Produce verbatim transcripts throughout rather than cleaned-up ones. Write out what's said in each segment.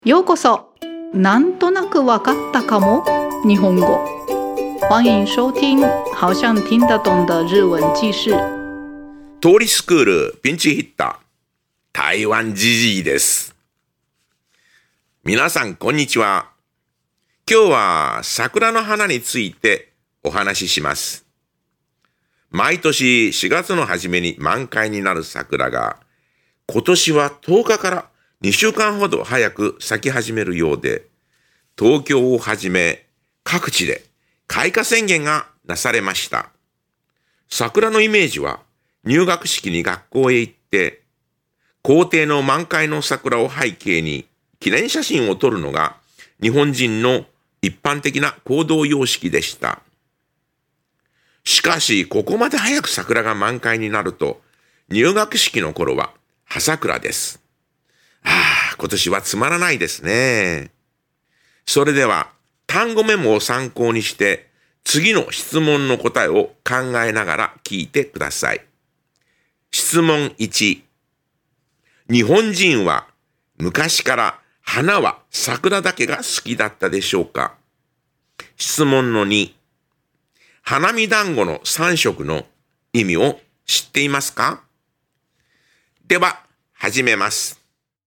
ようこそ。なんとなくわかったかも日本語。欢迎收听好像听得懂的日文記事。 通りスクールピンチヒッター台湾ジジイです。皆さんこんにちは。今日は桜の花についてお話しします。毎年しがつの初めに満開になる桜が今年はとおかからにしゅうかんほど早く咲き始めるようで、東京をはじめ各地で開花宣言がなされました。桜のイメージは入学式に学校へ行って校庭の満開の桜を背景に記念写真を撮るのが日本人の一般的な行動様式でした。しかしここまで早く桜が満開になると入学式の頃は葉桜です。ああ、今年はつまらないですね。それでは単語メモを参考にして次の質問の答えを考えながら聞いてください。質問いち。日本人は昔から花は桜だけが好きだったでしょうか？質問のに。花見団子のさん色の意味を知っていますか？では始めます。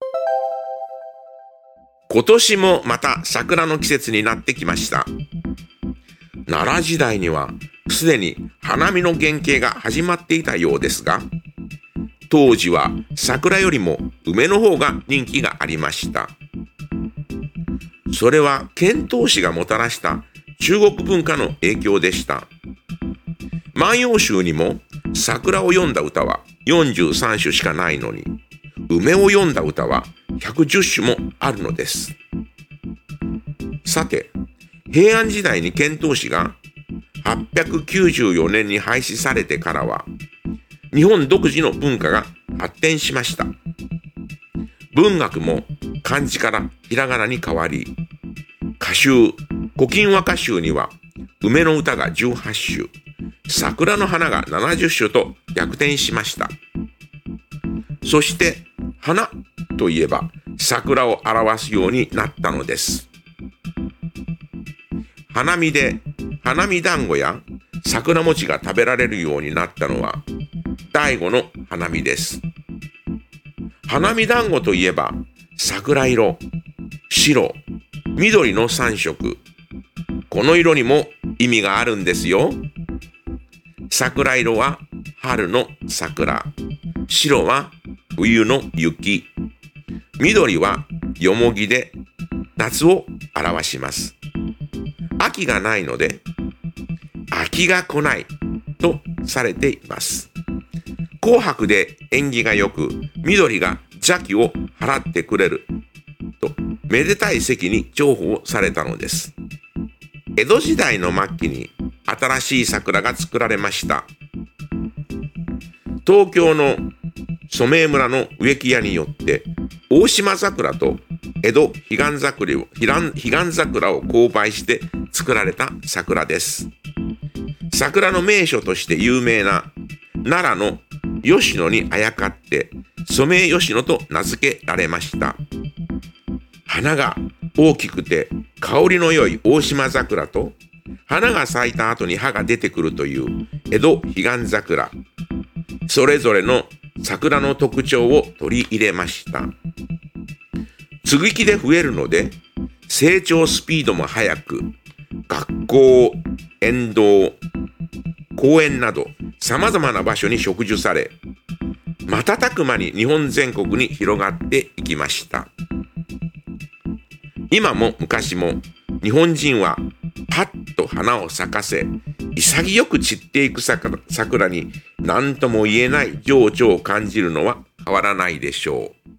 今年もまた桜の季節になってきました。奈良時代にはすでに花見の原型が始まっていたようですが、当時は桜よりも梅の方が人気がありました。それは遣唐使がもたらした中国文化の影響でした。万葉集にも桜を詠んだ歌はよんじゅうさんしゅしかないのに、梅を詠んだ歌はひゃくじゅっしゅもあるのです。さて、平安時代に遣唐使がはっぴゃくきゅうじゅうよねんに廃止されてからは、日本独自の文化が発展しました。文学も漢字からひらがなに変わり、歌集、古今和歌集には梅の歌がじゅうはっしゅ、桜の花がななじゅっしゅと逆転しました。そして花といえば桜を表すようになったのです。花見で花見団子や桜餅が食べられるようになったのは醍醐の花見です。花見団子といえば桜色、白、緑のさん色。この色にも意味があるんですよ。桜色は春の桜、白は冬の雪、緑はよもぎで夏を表します。秋がないので秋が来ないとされています。紅白で縁起が良く緑が邪気を払ってくれるとめでたい席に重宝されたのです。江戸時代の末期に新しい桜が作られました。東京の染井村の植木屋によって大島桜と江戸彼岸桜を彼岸桜を交配して作られた桜です。桜の名所として有名な奈良の吉野にあやかって染井吉野と名付けられました。花が大きくて香りの良い大島桜と花が咲いた後に葉が出てくるという江戸彼岸桜、それぞれの桜の特徴を取り入れました。接ぎ木で増えるので成長スピードも速く、学校、沿道、公園など様々な場所に植樹され、瞬く間に日本全国に広がっていきました。今も昔も日本人はパッと花を咲かせ、潔く散っていく 桜, 桜に何とも言えない情緒を感じるのは変わらないでしょう。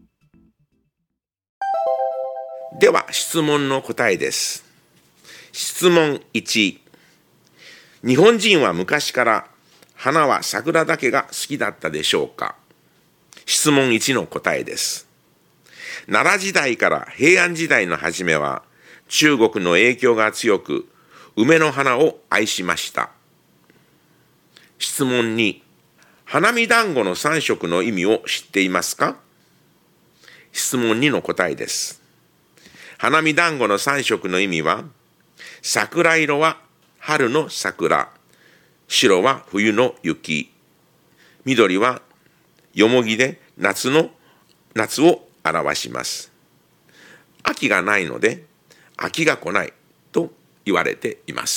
では質問の答えです。質問いち。日本人は昔から花は桜だけが好きだったでしょうか？質問いちの答えです。奈良時代から平安時代の初めは中国の影響が強く梅の花を愛しました。質問に。花見団子のさん色の意味を知っていますか？質問にの答えです。 花見団子のさん色の意味は、桜色は春の桜、白は冬の雪、緑はよもぎで夏の夏を表します。秋がないので秋が来ないと言われています。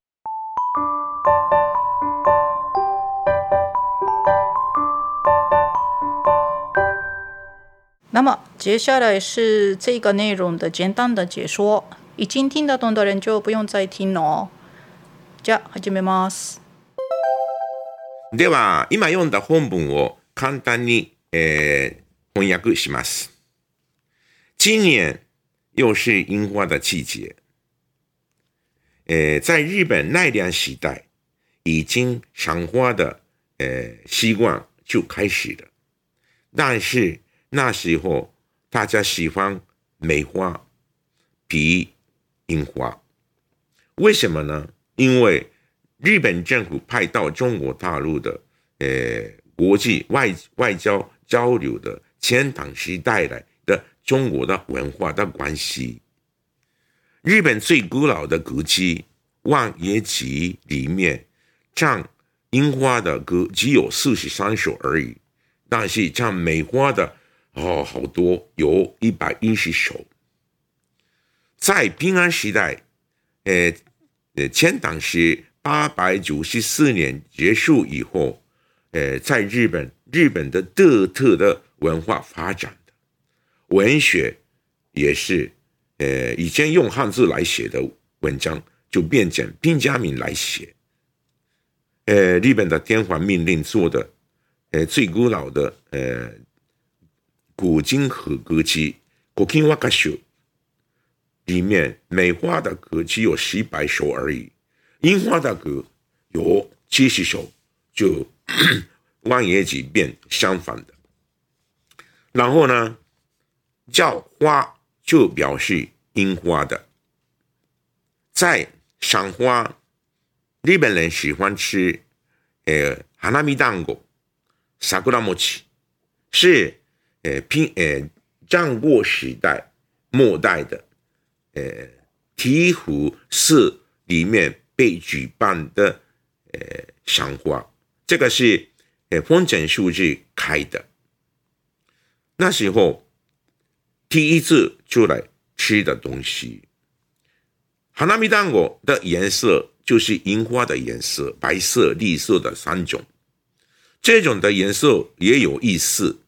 那么接下来是这个内容的简单的解说，已经听得懂的人就不用再听了哦。じゃあ始めます。 では今読んだ本文を簡単に、えー、翻訳します。今年又是樱花的季节，呃，在日本奈良时代已经赏花的呃习惯就开始了，但是那时候大家喜欢梅花比樱花，为什么呢？因为日本政府派到中国大陆的呃国际外外交交流的遣唐时代来的中国的文化的关系。日本最古老的歌姬望野集里面唱樱花的歌只有四十三首而已，但是唱梅花的哦好多，有一百一十首。在平安时代呃遣唐时八百九十四年结束以后，呃在日本日本的独特的文化发展的文学也是呃以前用汉字来写的文章就变成平假名来写。呃日本的天皇命令做的呃最古老的呃古今和歌姬古今和歌集里面梅花的歌只有十百首而已，樱花的歌有七十首，就望野集变相反的。然后呢叫花就表示樱花的。在赏花，日本人喜欢吃呃花見団子、桜餅，是呃平呃战国时代末代的呃醍醐寺里面被举办的呃赏花，这个是呃丰臣秀吉开的。那时候第一次出来吃的东西，花見団子的颜色就是樱花的颜色，白色、绿色的三种。这种的颜色也有意思。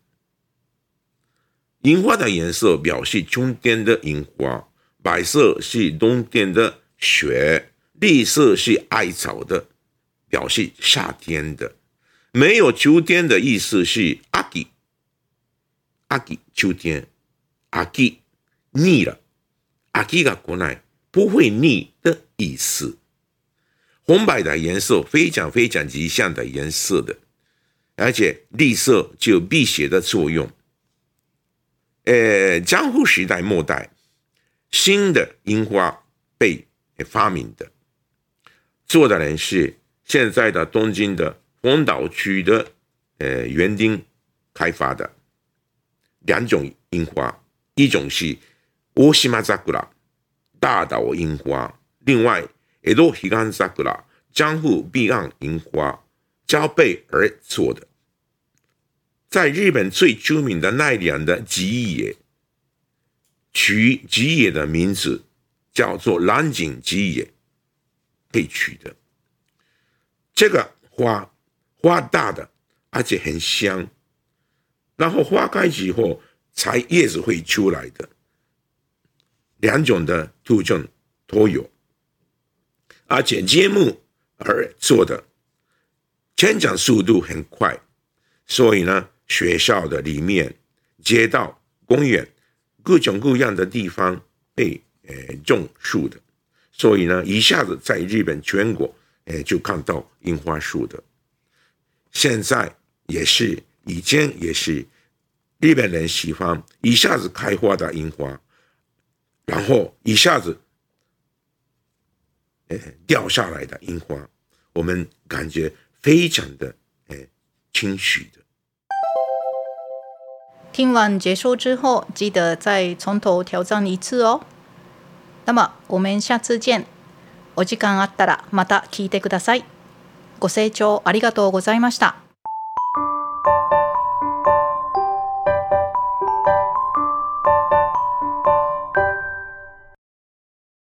樱花的颜色表示春天的樱花，白色是冬天的雪，绿色是艾草的，表示夏天的。没有秋天的意思是秋，秋秋天，秋腻了，秋が来ない不会腻的意思。红白的颜色非常非常吉祥的颜色的，而且绿色就有辟邪的作用。呃，江户时代末代，新的樱花被发明的，做的人是现在的东京的丰岛区的呃园丁开发的。两种樱花，一种是大島桜大岛樱花，另外江戸彼岸桜江户彼岸樱花交配而做的。在日本最著名的奈良的吉野，取吉野的名字叫做蓝井吉野被取的。这个花花大的，而且很香，然后花开之后才叶子会出来的，两种的特征都有，而且节目而做的，成长速度很快，所以呢学校的里面、街道、公园各种各样的地方被呃种树的，所以呢一下子在日本全国呃就看到樱花树的。现在也是，以前也是，日本人喜欢一下子开花的樱花，然后一下子呃掉下来的樱花，我们感觉非常的呃清晰的。 听完解说之后，记得再从头挑战一次哦。那么我们下次见。お時間あったらまた聞いてください。ご清聴ありがとうございました。